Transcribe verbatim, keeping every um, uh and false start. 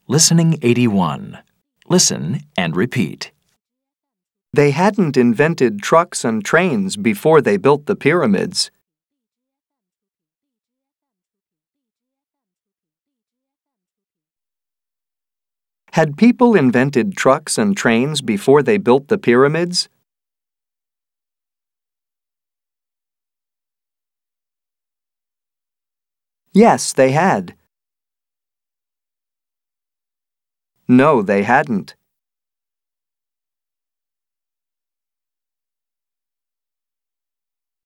Listening eighty-one. Listen and repeat. They hadn't invented trucks and trains before they built the pyramids. Had people invented trucks and trains before they built the pyramids? Yes, they had. No, they hadn't.